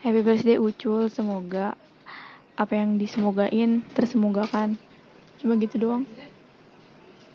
Happy birthday Ucul, semoga apa yang disemogain tersemogakan. Cuma gitu doang.